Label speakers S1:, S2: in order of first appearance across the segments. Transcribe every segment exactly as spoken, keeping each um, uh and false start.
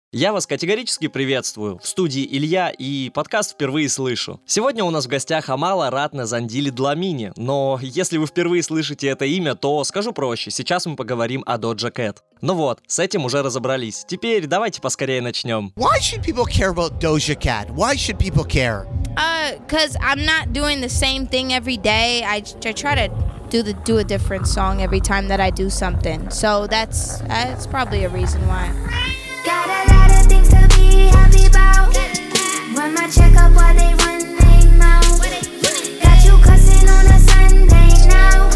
S1: Я вас категорически приветствую. В студии Илья, и подкаст впервые слышу. Сегодня у нас в гостях Амала Ратне Зандили Дламини, но если вы впервые слышите это имя, то скажу проще, сейчас мы поговорим о Doja Cat. Ну вот, с этим уже разобрались. Теперь давайте поскорее начнем.
S2: Why should people care about Doja Cat? Why should people care?
S3: Uh, cause I'm not doing the same thing every day. I, I try to do the do a different song every time that I do something. So that's that's probably a reason why.
S4: Got a lot of things to be happy about. Run my checkup while they run their mouth. Got you cussing on a Sunday now.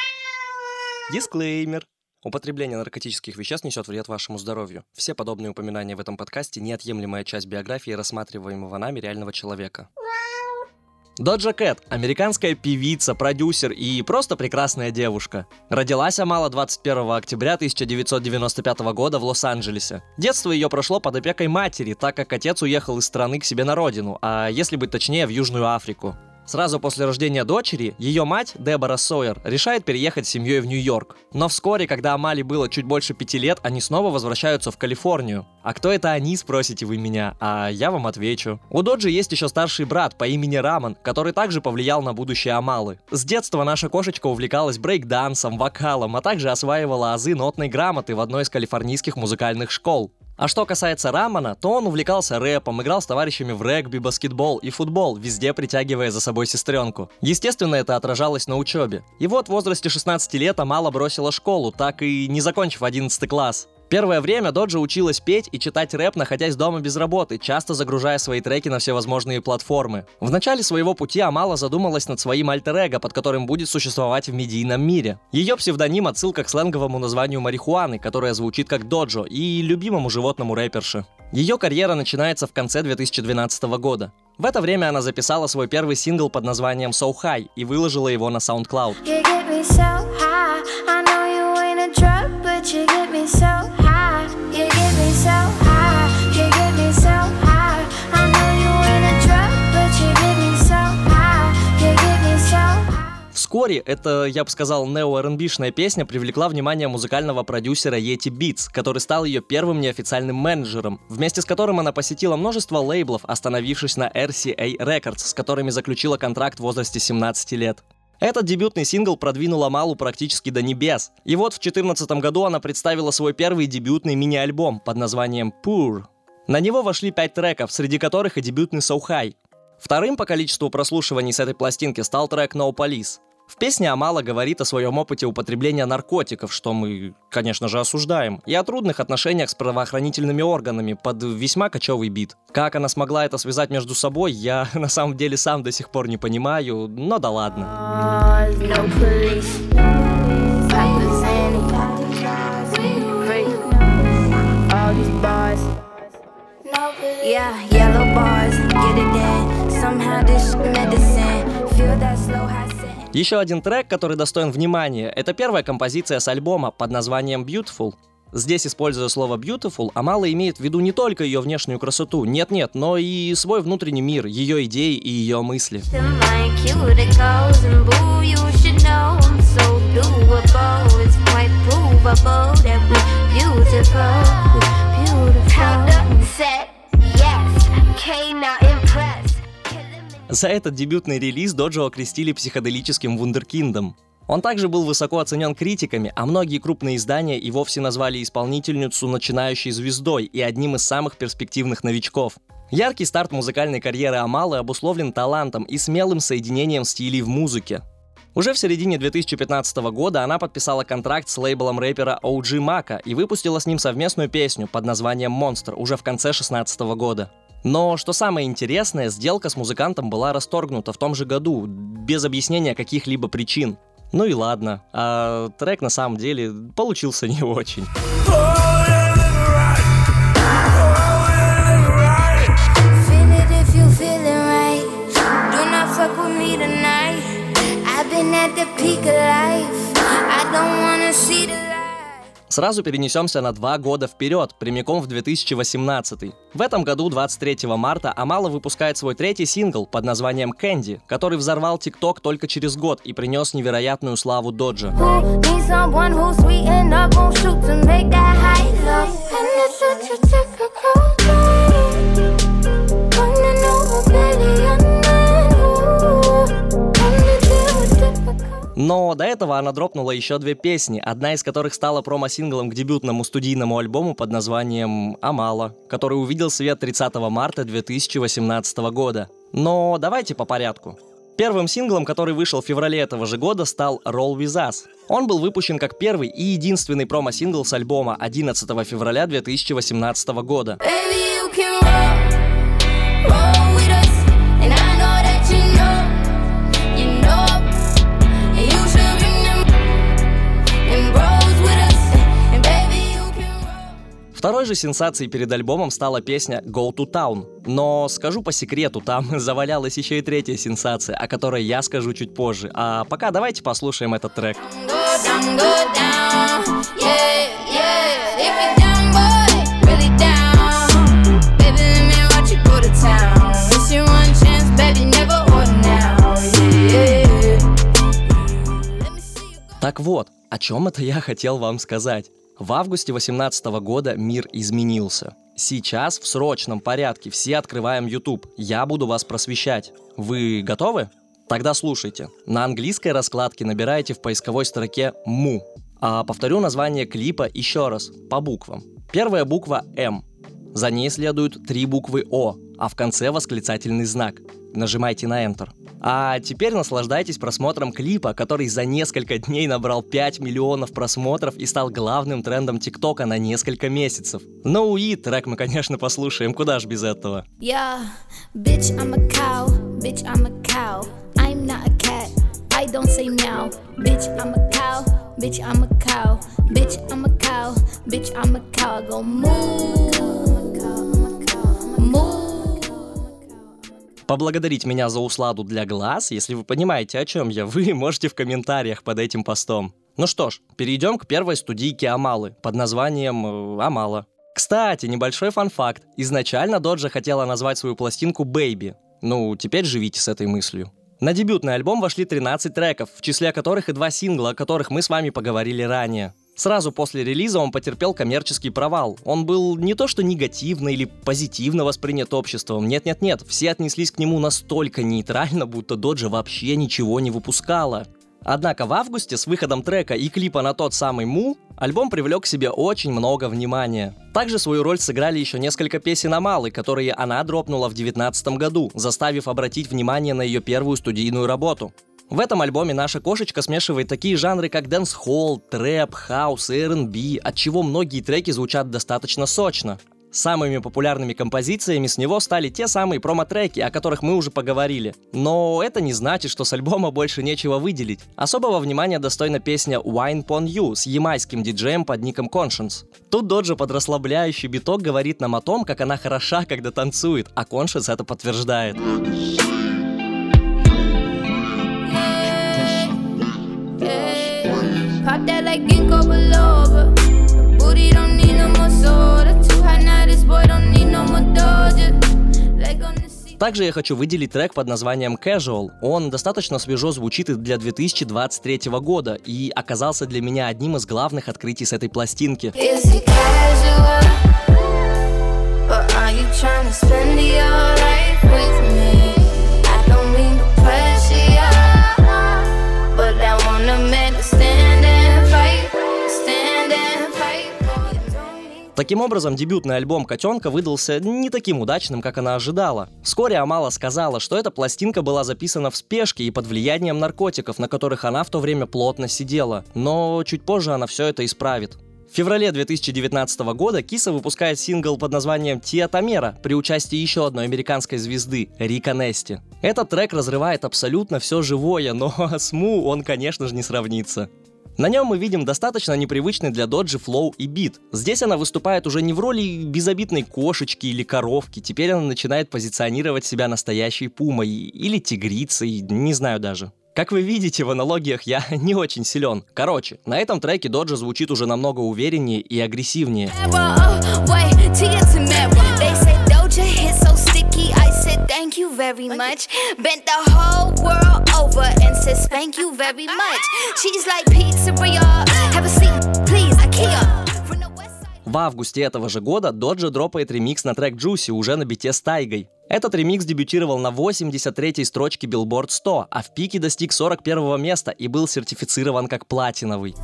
S1: Дисклеймер. Употребление наркотических веществ несет вред вашему здоровью. Все подобные упоминания в этом подкасте – неотъемлемая часть биографии рассматриваемого нами реального человека. Doja Cat – американская певица, продюсер и просто прекрасная девушка. Родилась Амала двадцать первого октября тысяча девятьсот девяносто пятого года в Лос-Анджелесе. Детство ее прошло под опекой матери, так как отец уехал из страны к себе на родину, а если быть точнее, в Южную Африку. Сразу после рождения дочери, ее мать, Дебора Сойер, решает переехать с семьей в Нью-Йорк. Но вскоре, когда Амале было чуть больше пяти лет, они снова возвращаются в Калифорнию. А кто это они, спросите вы меня, а я вам отвечу. У Доджи есть еще старший брат по имени Рамон, который также повлиял на будущее Амалы. С детства наша кошечка увлекалась брейк-дансом, вокалом, а также осваивала азы нотной грамоты в одной из калифорнийских музыкальных школ. А что касается Рамона, то он увлекался рэпом, играл с товарищами в регби, баскетбол и футбол, везде притягивая за собой сестренку. Естественно, это отражалось на учебе. И вот в возрасте шестнадцати лет Амала бросила школу, так и не закончив одиннадцатый класс. Первое время Доджа училась петь и читать рэп, находясь дома без работы, часто загружая свои треки на всевозможные платформы. В начале своего пути Амала задумалась над своим альтер-эго, под которым будет существовать в медийном мире. Ее псевдоним — отсылка к сленговому названию марихуаны, которая звучит как доджо, и любимому животному рэперши. Ее карьера начинается в конце две тысячи двенадцатого года. В это время она записала свой первый сингл под названием So High и выложила его на SoundCloud. Вскоре эта, я бы сказал, нео-ар энд би-шная песня привлекла внимание музыкального продюсера Yeti Beats, который стал ее первым неофициальным менеджером, вместе с которым она посетила множество лейблов, остановившись на эр си эй Records, с которыми заключила контракт в возрасте семнадцати лет. Этот дебютный сингл продвинул Амалу практически до небес. И вот в две тысячи четырнадцатом году она представила свой первый дебютный мини-альбом под названием Poor. На него вошли пять треков, среди которых и дебютный So High. Вторым по количеству прослушиваний с этой пластинки стал трек No Police. В песне Амала говорит о своем опыте употребления наркотиков, что мы, конечно же, осуждаем, и о трудных отношениях с правоохранительными органами под весьма кочевый бит. Как она смогла это связать между собой, я на самом деле сам до сих пор не понимаю, но да ладно. Еще один трек, который достоин внимания, это первая композиция с альбома под названием Beautiful. Здесь, используя слово Beautiful, Амала имеет в виду не только ее внешнюю красоту, нет-нет, но и свой внутренний мир, ее идеи и ее мысли. За этот дебютный релиз Доджу окрестили психоделическим вундеркиндом. Он также был высоко оценен критиками, а многие крупные издания и вовсе назвали исполнительницу начинающей звездой и одним из самых перспективных новичков. Яркий старт музыкальной карьеры Амалы обусловлен талантом и смелым соединением стилей в музыке. Уже в середине две тысячи пятнадцатого года она подписала контракт с лейблом рэпера о джи Мака и выпустила с ним совместную песню под названием «Monster» уже в конце две тысячи шестнадцатого года. Но, что самое интересное, сделка с музыкантом была расторгнута в том же году, без объяснения каких-либо причин. Ну и ладно, а трек на самом деле получился не очень. Сразу перенесемся на два года вперед, прямиком в две тысячи восемнадцатый. В этом году, двадцать третьего марта, Амала выпускает свой третий сингл под названием «Candy», который взорвал ТикТок только через год и принес невероятную славу Доджа.
S4: someone who's sweet enough, won't shoot to make that high love. And it's such a typical
S1: Но до этого она дропнула еще две песни, одна из которых стала промо-синглом к дебютному студийному альбому под названием «Амала», который увидел свет тридцатого марта две тысячи восемнадцатого года. Но давайте по порядку. Первым синглом, который вышел в феврале этого же года, стал «Roll With Us». Он был выпущен как первый и единственный промо-сингл с альбома одиннадцатого февраля две тысячи восемнадцатого года. Второй же сенсацией перед альбомом стала песня «Go to Town». Но скажу по секрету, там завалялась еще и третья сенсация, о которой я скажу чуть позже. А пока давайте послушаем этот трек. Так вот, о чем это я хотел вам сказать. В августе две тысячи восемнадцатого года мир изменился. Сейчас в срочном порядке все открываем YouTube. Я буду вас просвещать. Вы готовы? Тогда слушайте. На английской раскладке набираете в поисковой строке «Му». А повторю название клипа еще раз, по буквам. Первая буква «М». За ней следуют три буквы «О», а в конце восклицательный знак. Нажимайте на Enter. А теперь наслаждайтесь просмотром клипа, который за несколько дней набрал пять миллионов просмотров и стал главным трендом ТикТока на несколько месяцев. Ну и трек мы, конечно, послушаем, куда ж без этого.
S4: Yeah, bitch, I'm a cow, bitch, I'm a cow. I'm not a cat, I don't say meow. Bitch, I'm a cow, bitch, I'm a cow. Bitch, I'm a cow, bitch, I'm a cow. I go moo, moo.
S1: Поблагодарить меня за усладу для глаз, если вы понимаете, о чем я, вы можете в комментариях под этим постом. Ну что ж, перейдем к первой студийке Амалы под названием э, «Амала». Кстати, небольшой фан-факт. Изначально Доджа хотела назвать свою пластинку «Baby». Ну, теперь живите с этой мыслью. На дебютный альбом вошли тринадцать треков, в числе которых и два сингла, о которых мы с вами поговорили ранее. Сразу после релиза он потерпел коммерческий провал. Он был не то что негативно или позитивно воспринят обществом, нет-нет-нет, все отнеслись к нему настолько нейтрально, будто Доджа вообще ничего не выпускала. Однако в августе с выходом трека и клипа на тот самый «Му» альбом привлек к себе очень много внимания. Также свою роль сыграли еще несколько песен Амалы, которые она дропнула в две тысячи девятнадцатом году, заставив обратить внимание на ее первую студийную работу. В этом альбоме наша кошечка смешивает такие жанры, как дэнс-холл, трэп, хаус и эр энд би, отчего многие треки звучат достаточно сочно. Самыми популярными композициями с него стали те самые промо-треки, о которых мы уже поговорили. Но это не значит, что с альбома больше нечего выделить. Особого внимания достойна песня «Wine Pon You» с ямайским диджеем под ником Conscience. Тут Доджа под расслабляющий биток говорит нам о том, как она хороша, когда танцует, а Conscience это подтверждает. Pop that like ginkgo biloba. Booty don't need no more soda. Too hot now, this boy don't need no more Doja. Также я хочу выделить трек под названием Casual. Он достаточно свежо звучит и для две тысячи двадцать третьего года и оказался для меня одним из главных открытий с этой пластинки. Таким образом, дебютный альбом «Котенка» выдался не таким удачным, как она ожидала. Вскоре Амала сказала, что эта пластинка была записана в спешке и под влиянием наркотиков, на которых она в то время плотно сидела, но чуть позже она все это исправит. В феврале две тысячи девятнадцатого года Киса выпускает сингл под названием «Тиа Тамера» при участии еще одной американской звезды — Рика Нести. Этот трек разрывает абсолютно все живое, но с Му он, конечно же, не сравнится. На нем мы видим достаточно непривычный для Доджи флоу и бит. Здесь она выступает уже не в роли безобидной кошечки или коровки, теперь она начинает позиционировать себя настоящей пумой или тигрицей, не знаю даже. Как вы видите, в аналогиях я не очень силен. Короче, на этом треке Доджа звучит уже намного увереннее и агрессивнее. Thank you very much. Bent the whole world over and says thank you very much. She's like pizzeria. Have a seat, please, IKEA. В августе этого же года Доджа дропает ремикс на трек Juicy уже на бите с Тайгой. Этот ремикс дебютировал на восемьдесят третьей строчке Billboard сто, а в пике достиг сорок первого места и был сертифицирован как платиновый.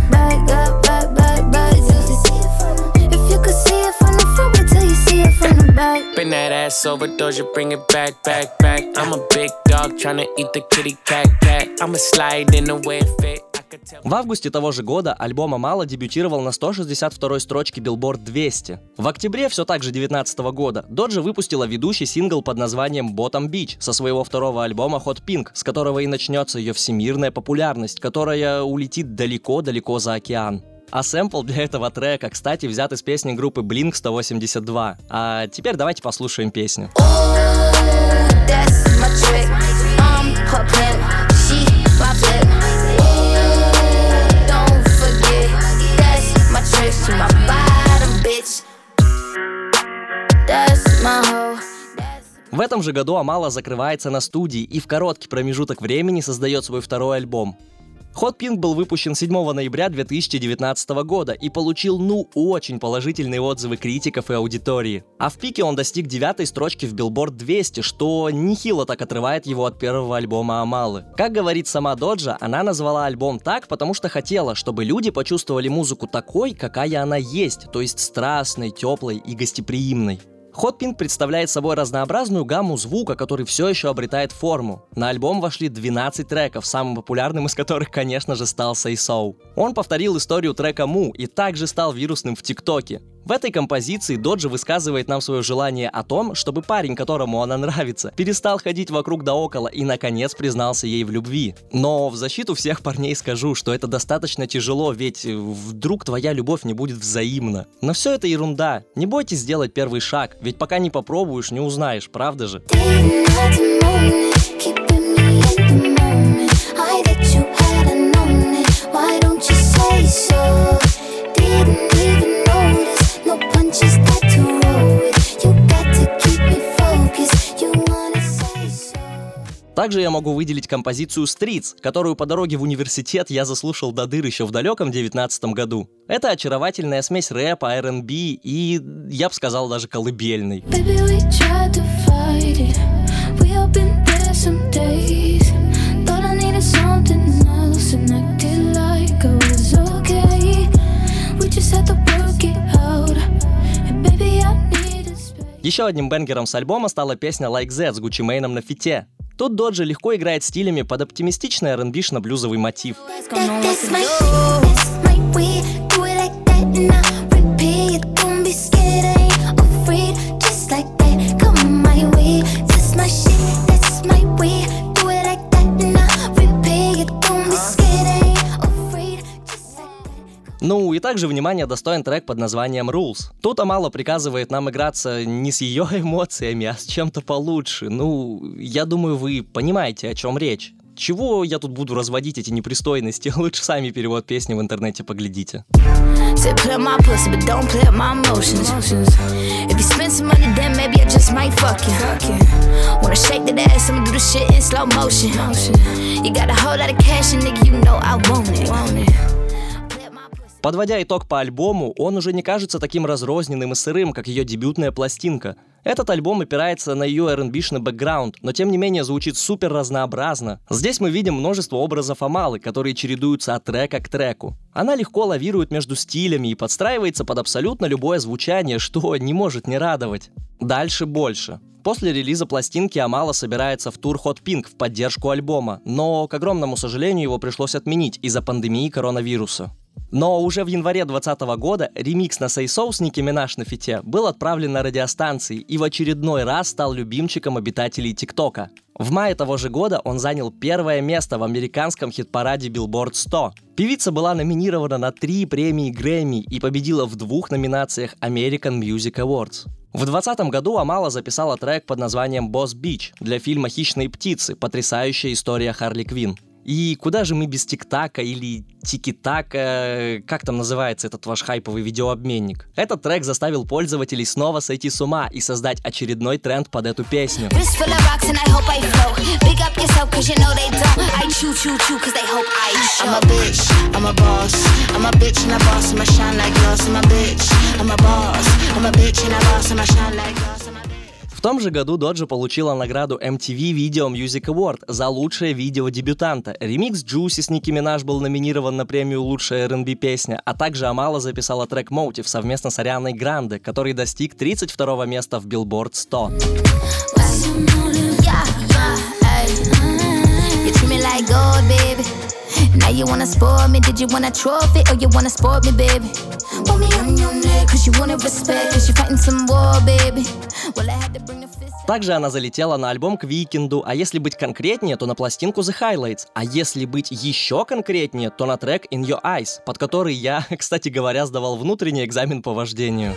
S1: В августе того же года альбом Амала дебютировал на сто шестьдесят второй строчке Billboard двести. В октябре все так же девятнадцатого года Доджа выпустила ведущий сингл под названием Bottom Beach со своего второго альбома Hot Pink, с которого и начнется ее всемирная популярность, которая улетит далеко-далеко за океан. А сэмпл для этого трека, кстати, взят из песни группы Blink сто восемьдесят два. А теперь давайте послушаем песню. В этом же году Амала закрывается на студии и в короткий промежуток времени создает свой второй альбом. Hot Pink был выпущен седьмого ноября две тысячи девятнадцатого года и получил, ну, очень положительные отзывы критиков и аудитории. А в пике он достиг девятой строчки в Billboard двести, что нехило так отрывает его от первого альбома Амалы. Как говорит сама Доджа, она назвала альбом так, потому что хотела, чтобы люди почувствовали музыку такой, какая она есть, то есть страстной, теплой и гостеприимной. Hot Pink представляет собой разнообразную гамму звука, который все еще обретает форму. На альбом вошли двенадцать треков, самым популярным из которых, конечно же, стал Say So. Он повторил историю трека Му и также стал вирусным в ТикТоке. В этой композиции Доджа высказывает нам свое желание о том, чтобы парень, которому она нравится, перестал ходить вокруг да около и, наконец, признался ей в любви. Но в защиту всех парней скажу, что это достаточно тяжело, ведь вдруг твоя любовь не будет взаимна. Но все это ерунда. Не бойтесь сделать первый шаг, ведь пока не попробуешь, не узнаешь, правда же? Также я могу выделить композицию Streets, которую по дороге в университет я заслушал до дыр еще в далеком девятнадцатом году. Это очаровательная смесь рэпа, ар энд би и, я бы сказал, даже колыбельной. Еще одним бенгером с альбома стала песня Like That с Gucci Mane на фите. Тут Доджа легко играет стилями под оптимистичный ар энд би-шно-блюзовый мотив. Ну и также внимание достоин трек под названием Rules. Тут Амала приказывает нам играться не с ее эмоциями, а с чем-то получше. Ну, я думаю, вы понимаете, о чем речь. Чего я тут буду разводить эти непристойности? Лучше сами перевод песни в интернете поглядите. Подводя итог по альбому, он уже не кажется таким разрозненным и сырым, как ее дебютная пластинка. Этот альбом опирается на ее ар энд би-шный бэкграунд, но тем не менее звучит супер разнообразно. Здесь мы видим множество образов Амалы, которые чередуются от трека к треку. Она легко лавирует между стилями и подстраивается под абсолютно любое звучание, что не может не радовать. Дальше больше. После релиза пластинки Амала собирается в тур Hot Pink в поддержку альбома, но, к огромному сожалению, его пришлось отменить из-за пандемии коронавируса. Но уже в январе двадцатого года ремикс на Say So с Ники Минаж на фите был отправлен на радиостанции и в очередной раз стал любимчиком обитателей ТикТока. В мае того же года он занял первое место в американском хит-параде Billboard сто. Певица была номинирована на три премии Грэмми и победила в двух номинациях American Music Awards. В двадцатом году Амала записала трек под названием Boss Beach для фильма «Хищные птицы», потрясающая история Харли Квинн. И куда же мы без тик-така или тики-така, как там называется этот ваш хайповый видеообменник? Этот трек заставил пользователей снова сойти с ума и создать очередной тренд под эту песню. В том же году Доджа получила награду эм ти ви Video Music Award за лучшее видео дебютанта. Ремикс Juicy с Ники Минаж был номинирован на премию «Лучшая эр энд би песня», а также Амала записала трек Motive совместно с Арианой Гранде, который достиг тридцать второго места в Billboard сто.
S4: Now you wanna spoil me, did you wanna trophy, or you wanna spoil me, baby? Want me on your neck, cause you wanna respect, cause you fighting some war, baby. Well, I had to bring the fist.
S1: Также она залетела на альбом к Weeknd'у, а если быть конкретнее, то на пластинку The Highlights, а если быть еще конкретнее, то на трек In Your Eyes, под который я, кстати говоря, сдавал внутренний экзамен по вождению.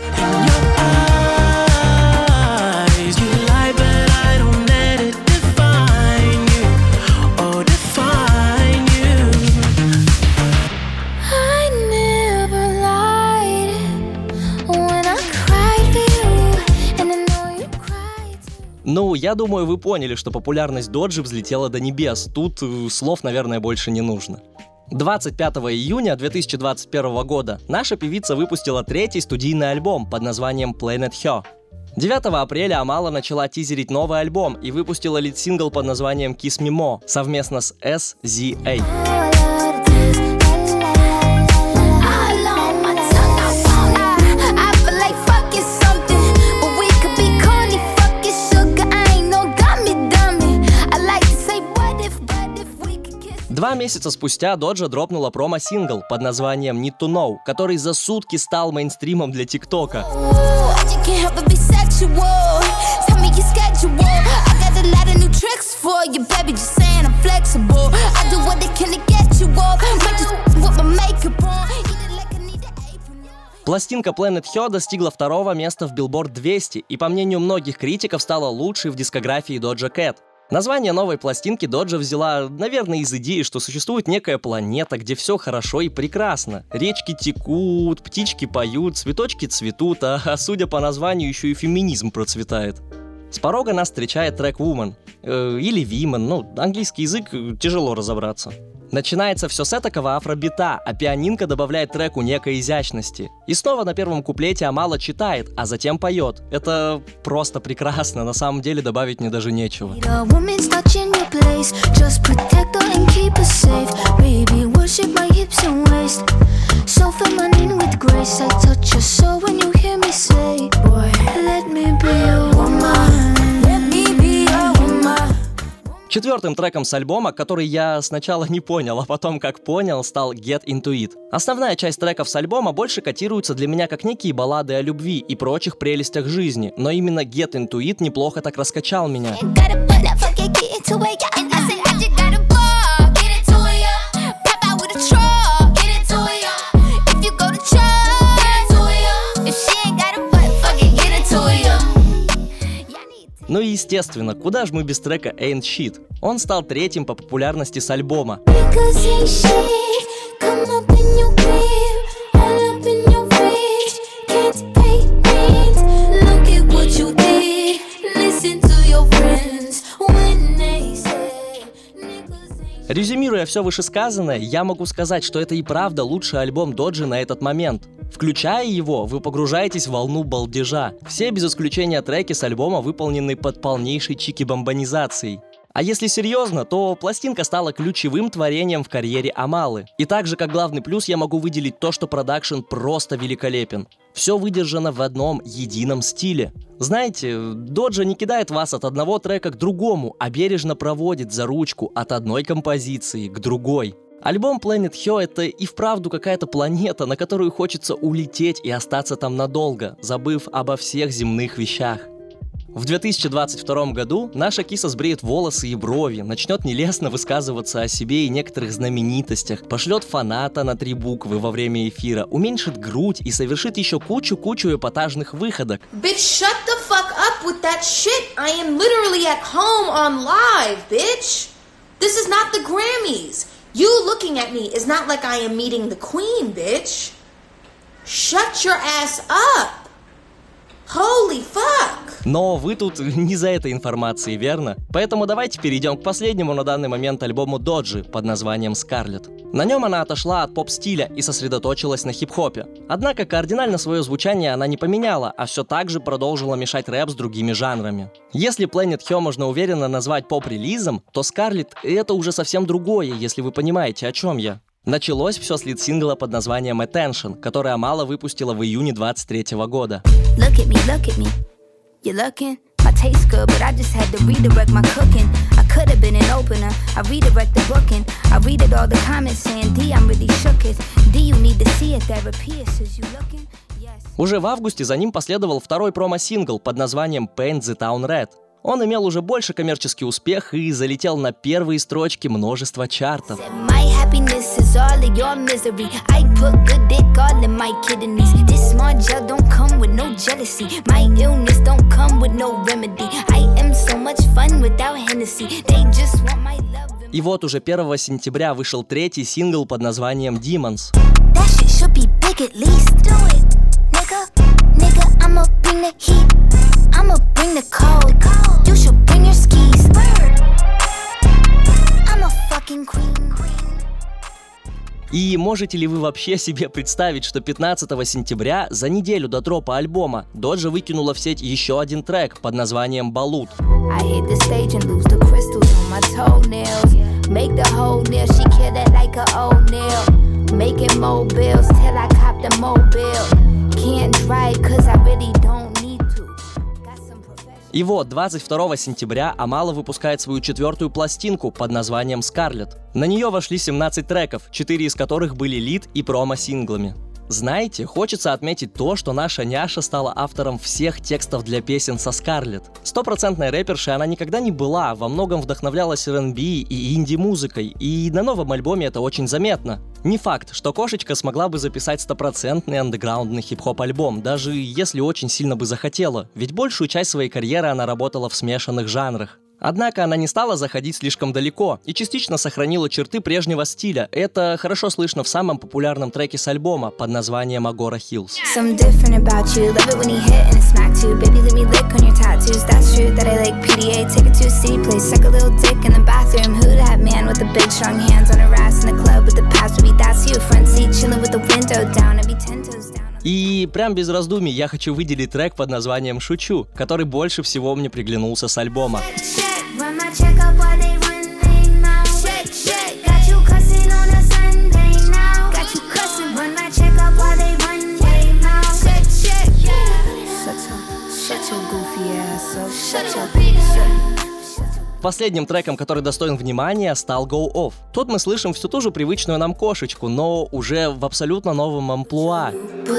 S1: Ну, я думаю, вы поняли, что популярность Доджи взлетела до небес. Тут э, слов, наверное, больше не нужно. двадцать пятого июня две тысячи двадцать первого года наша певица выпустила третий студийный альбом под названием Planet Her. девятого апреля Амала начала тизерить новый альбом и выпустила лид-сингл под названием Kiss Me More совместно с эс зет эй. Два месяца спустя Доджа дропнула промо-сингл под названием Need to Know, который за сутки стал мейнстримом для ТикТока. Пластинка Planet Her достигла второго места в Billboard двести и, по мнению многих критиков, стала лучшей в дискографии Doja Cat. Название новой пластинки Доджа взяла, наверное, из идеи, что существует некая планета, где все хорошо и прекрасно. Речки текут, птички поют, цветочки цветут, а, а судя по названию, еще и феминизм процветает. С порога нас встречает трек Woman, э, или Women, ну, английский язык, тяжело разобраться. Начинается все с этакого афробита, а пианинка добавляет треку некой изящности. И снова на первом куплете Амала читает, а затем поет. Это просто прекрасно, на самом деле добавить мне даже нечего. Четвертым треком с альбома, который я сначала не понял, а потом как понял, стал Get Into It. Основная часть треков с альбома больше котируется для меня как некие баллады о любви и прочих прелестях жизни, но именно Get Into It неплохо так раскачал меня. Ну и естественно, куда же мы без трека Ain't Shit? Он стал третьим по популярности с альбома. Резюмируя все вышесказанное, я могу сказать, что это и правда лучший альбом Доджи на этот момент. Включая его, вы погружаетесь в волну балдежа. Все без исключения треки с альбома выполнены под полнейшей чики-бомбонизацией. А если серьезно, то пластинка стала ключевым творением в карьере Амалы. И также как главный плюс я могу выделить то, что продакшн просто великолепен. Все выдержано в одном едином стиле. Знаете, Доджа не кидает вас от одного трека к другому, а бережно проводит за ручку от одной композиции к другой. Альбом Planet Her — это и вправду какая-то планета, на которую хочется улететь и остаться там надолго, забыв обо всех земных вещах. В две тысячи двадцать втором году наша киса сбреет волосы и брови, начнет нелестно высказываться о себе и некоторых знаменитостях, пошлет фаната на три буквы во время эфира, уменьшит грудь и совершит еще кучу-кучу эпатажных выходок.
S5: Bitch, shut the fuck up with that shit. I am literally at home on live, bitch. This is not the Grammys. You looking at me is not like I am meeting the queen, bitch. Shut your ass up. Holy fuck.
S1: Но вы тут не за этой информацией, верно? Поэтому давайте перейдем к последнему на данный момент альбому Доджи под названием Scarlet. На нем она отошла от поп-стиля и сосредоточилась на хип-хопе. Однако кардинально свое звучание она не поменяла, а все так же продолжила мешать рэп с другими жанрами. Если Planet Hell можно уверенно назвать поп-релизом, то Scarlet — это уже совсем другое, если вы понимаете, о чем я. Началось все с лид-сингла под названием Attention, который Амала выпустила в июне двадцать третьего года.
S4: Look at me, look at me. You looking? My taste good, but I just had to redirect my cooking. I could have been an opener. I redirect the booking. I read it all the comments saying, D, I'm really shook it. D, you need to see a therapist. Is you looking? Yes.
S1: Уже в августе за ним последовал второй промо-сингл под названием Paint the Town Red. Он имел уже больше коммерческий успех и залетел на первые строчки множества чартов.
S4: My happiness is all of your misery. I put good dick all in my kidneys. This small gel don't come with no jealousy. My illness don't come with no remedy. I am so much fun without Hennessy. They just want my love.
S1: И вот уже первого сентября вышел третий сингл под названием Demons.
S4: That shit should be big at least. Do it, nigga. Nigga, I'ma bring the heat. I'ma bring the cold. You should bring your skis. I'm a fucking queen.
S1: И можете ли вы вообще себе представить, что пятнадцатого сентября, за неделю до дропа альбома, Доджа выкинула в сеть еще один трек под названием Balut.
S4: I hit the stage and lose the crystals on my toenails. Make the whole nail, she kill it like a old nail. Making mobiles till I cop the mobile. Can't drive cause I really don't need to. Got some professional.
S1: И вот, двадцать второго сентября Амала выпускает свою четвертую пластинку под названием Scarlet. На нее вошли семнадцать треков, четыре из которых были лид и промо-синглами. Знаете, хочется отметить то, что наша няша стала автором всех текстов для песен со Scarlet. Стопроцентной рэпершей она никогда не была, во многом вдохновлялась эр энд би и инди-музыкой, и на новом альбоме это очень заметно. Не факт, что кошечка смогла бы записать стопроцентный андеграундный хип-хоп альбом, даже если очень сильно бы захотела, ведь большую часть своей карьеры она работала в смешанных жанрах. Однако она не стала заходить слишком далеко и частично сохранила черты прежнего стиля. Это хорошо слышно в самом популярном треке с альбома под названием Agora Hills.
S4: Some different about you, love it when he hit and it's smack too. Baby, let me lick on your tattoos. That's true that I like P D A. Take it to a city place, suck a little dick in the bathroom. Who that man with the big strong hands on her ass in the club with the past? Maybe that's you, front seat chilling with the window down. I'd be ten toes down.
S1: И прям без раздумий я хочу выделить трек под названием «Шучу», который больше всего мне приглянулся с альбома.
S4: Run my check up while they run they mouth. Shake, shake. Got you cussing on a Sunday now. Got you cussing. Run my check up while they run they mouth. Shake, shake. Shut your, shut your goofy ass up. Shut your, shut.
S1: Последним треком, который достоин внимания, стал Go Off. Тут мы слышим всю ту же привычную нам кошечку, но уже в абсолютно новом амплуа.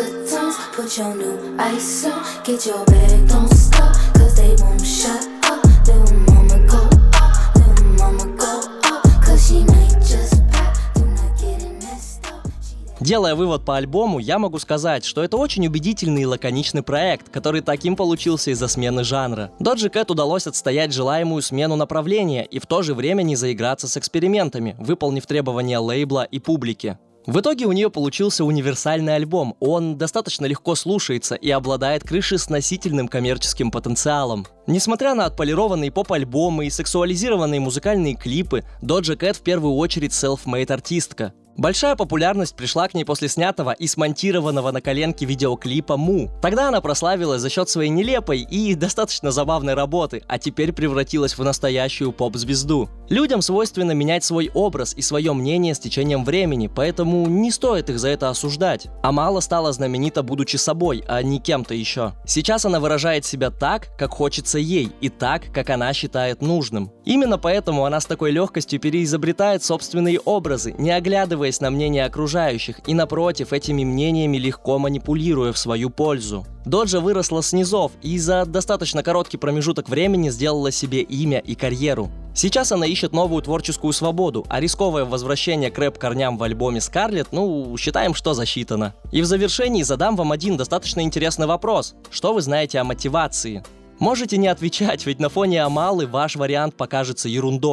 S4: Put your new ice on. Get your bag, don't stop. Cause they won't shut up. Little mama go up. Little mama go up. Cause she might just pop. Do not get it messed up.
S1: Делая вывод по альбому, я могу сказать, что это очень убедительный и лаконичный проект, который таким получился из-за смены жанра. Doja Cat удалось отстоять желаемую смену направления и в то же время не заиграться с экспериментами, выполнив требования лейбла и публики. В итоге у нее получился универсальный альбом, он достаточно легко слушается и обладает крышесносительным коммерческим потенциалом. Несмотря на отполированные поп-альбомы и сексуализированные музыкальные клипы, Doja Cat в первую очередь self-made артистка. Большая популярность пришла к ней после снятого и смонтированного на коленке видеоклипа «Му». Тогда она прославилась за счет своей нелепой и достаточно забавной работы, а теперь превратилась в настоящую поп-звезду. Людям свойственно менять свой образ и свое мнение с течением времени, поэтому не стоит их за это осуждать. Амала стала знаменита, будучи собой, а не кем-то еще. Сейчас она выражает себя так, как хочется ей, и так, как она считает нужным. Именно поэтому она с такой легкостью переизобретает собственные образы, не оглядываясь на мнение окружающих и, напротив, этими мнениями легко манипулируя в свою пользу. Доджа выросла с низов и за достаточно короткий промежуток времени сделала себе имя и карьеру. Сейчас она ищет новую творческую свободу, а рисковое возвращение к рэп-корням в альбоме Scarlet, ну, считаем, что засчитано. И в завершении задам вам один достаточно интересный вопрос. Что вы знаете о мотивации? Можете не отвечать, ведь на фоне Амалы ваш вариант покажется ерундой.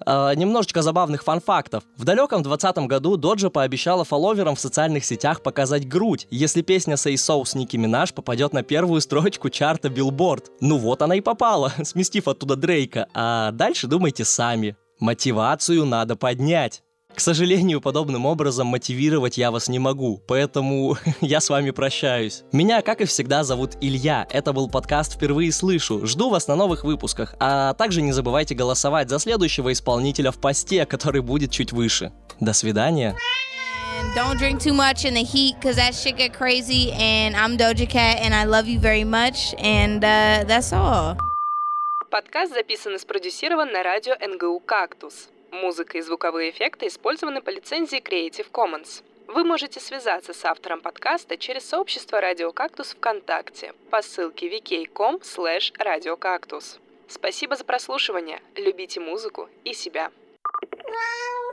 S1: Э, немножечко забавных фан-фактов. В далеком двадцатом году Доджа пообещала фолловерам в социальных сетях показать грудь, если песня Say So с Ники Минаж попадет на первую строчку чарта Billboard. Ну вот она и попала, сместив оттуда Дрейка. А дальше думайте сами. Мотивацию надо поднять. К сожалению, подобным образом мотивировать я вас не могу, поэтому я с вами прощаюсь. Меня, как и всегда, зовут Илья. Это был подкаст «Впервые слышу». Жду вас на новых выпусках. А также не забывайте голосовать за следующего исполнителя в посте, который будет чуть выше. До свидания.
S3: And don't drink too much in the heat, cause that shit get crazy. And I'm Doja Cat, and I love you very much. And uh, that's all.
S6: Подкаст записан и спродюсирован на радио эн гэ у «Кактус». Музыка и звуковые эффекты использованы по лицензии Creative Commons. Вы можете связаться с автором подкаста через сообщество Радио Кактус ВКонтакте по ссылке ви кей точка ком слэш радио кактус. Спасибо за прослушивание. Любите музыку и себя.
S5: Wow.